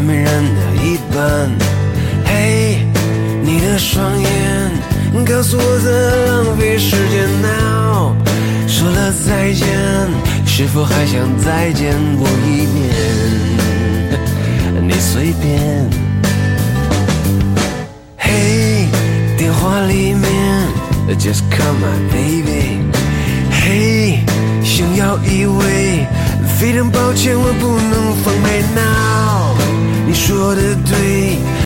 没人的一半。嘿，你的双眼告诉我在浪费时间 now。 说了再见，是否还想再见我一面？你随便。嘿，电话里面 Just call my baby。 嘿，想要依偎，非常抱歉我不能放开 now。 你说的对，